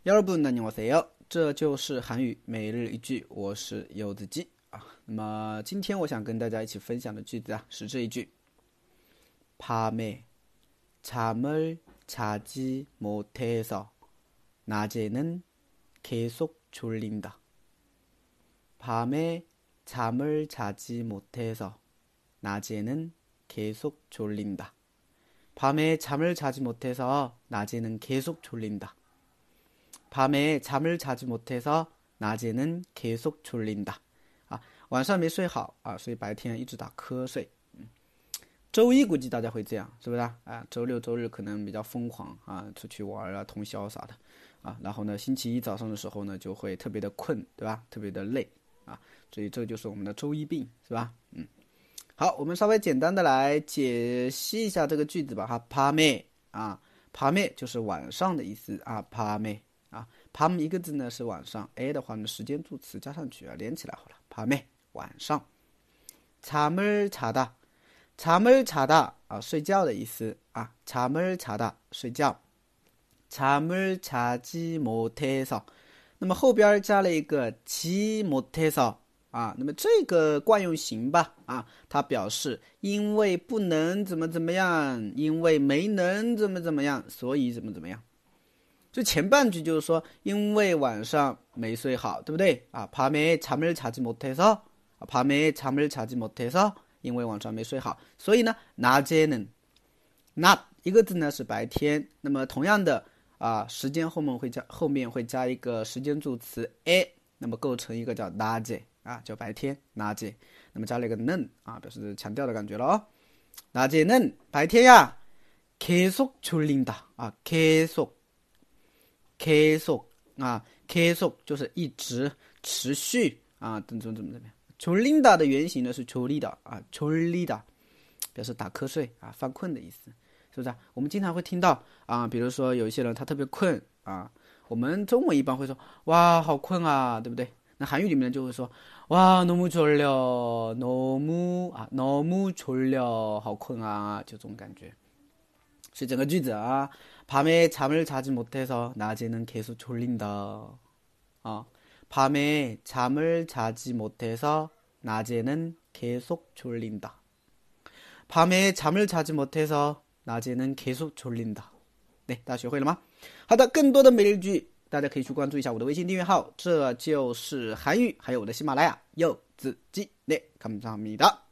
여러분 안녕하세요，这就是韩语每日一句，我是柚子鸡啊。那么今天我想跟大家一起分享的句子啊是这一句：밤에 잠을 자지 못해서 낮에는 계속 졸린다. 밤에 잠을 자지 못해서 낮에는 계속 졸린다. 밤에 잠을 자지 못해서 낮에는 계속 졸린다. 밤에 잠을 자지 못해서 낮에는 계속 졸린다. 晚上没睡好啊，所以白天一直打瞌睡。周一估计大家会这样，是不是啊？周六周日可能比较疯狂啊，出去玩啊，通宵啥的啊。然后呢，星期一早上的时候呢，就会特别的困，对吧？特别的累啊，所以这就是我们的周一病，是吧？好，我们稍微简单的来解析一下这个句子吧哈。밤에啊，밤에就是晚上的意思啊。밤에啊，밤一个字呢是晚上 ，a 的话呢时间助词加上去啊，连起来好了。밤에晚上，잠을 자다。잠을 자다啊，睡觉的意思啊。잠을 자다睡觉。잠을 자지 못해서，那么后边加了一个지 못해서啊，那么这个惯用型吧啊，它表示因为不能怎么怎么样，因为没能怎么怎么样，所以怎么怎么样。就前半句就是说，因为晚上没睡好，对不对啊？밤에 잠을 자지 못해서，밤에 잠을 자지 못해서，因为晚上没睡好，所以呢，낮에는，낮一个字呢是白天，那么同样的啊，时间后面会加一个时间助词 a， 那么构成一个叫낮에啊，叫白天낮에，那么加了一个는啊，表示强调的感觉了哦。낮에는白天呀，계속 졸린다啊，계속啊，계속就是一直持续啊，怎么样。졸린다的原型呢是졸리다啊，졸리다表示打瞌睡啊，犯困的意思，是不是啊？我们经常会听到啊，比如说有一些人他特别困啊，我们中文一般会说哇好困啊，对不对？那韩语里面就会说哇너무 졸려，너무 졸려，好困啊，就这种感觉。所以整个句子啊，밤에 잠을 자지 못해서 낮에는 계속 졸린다. 밤에 잠을 자지 못해서 낮에는 계속 졸린다. 밤에 잠을 자지 못해서 낮에는 계속 졸린다. 对，大家学会了吗？好的，更多的每日句大家可以去关注一下我的微信订阅号，这就是韩语，还有我的喜马拉雅柚子鸡。네，감사합니다。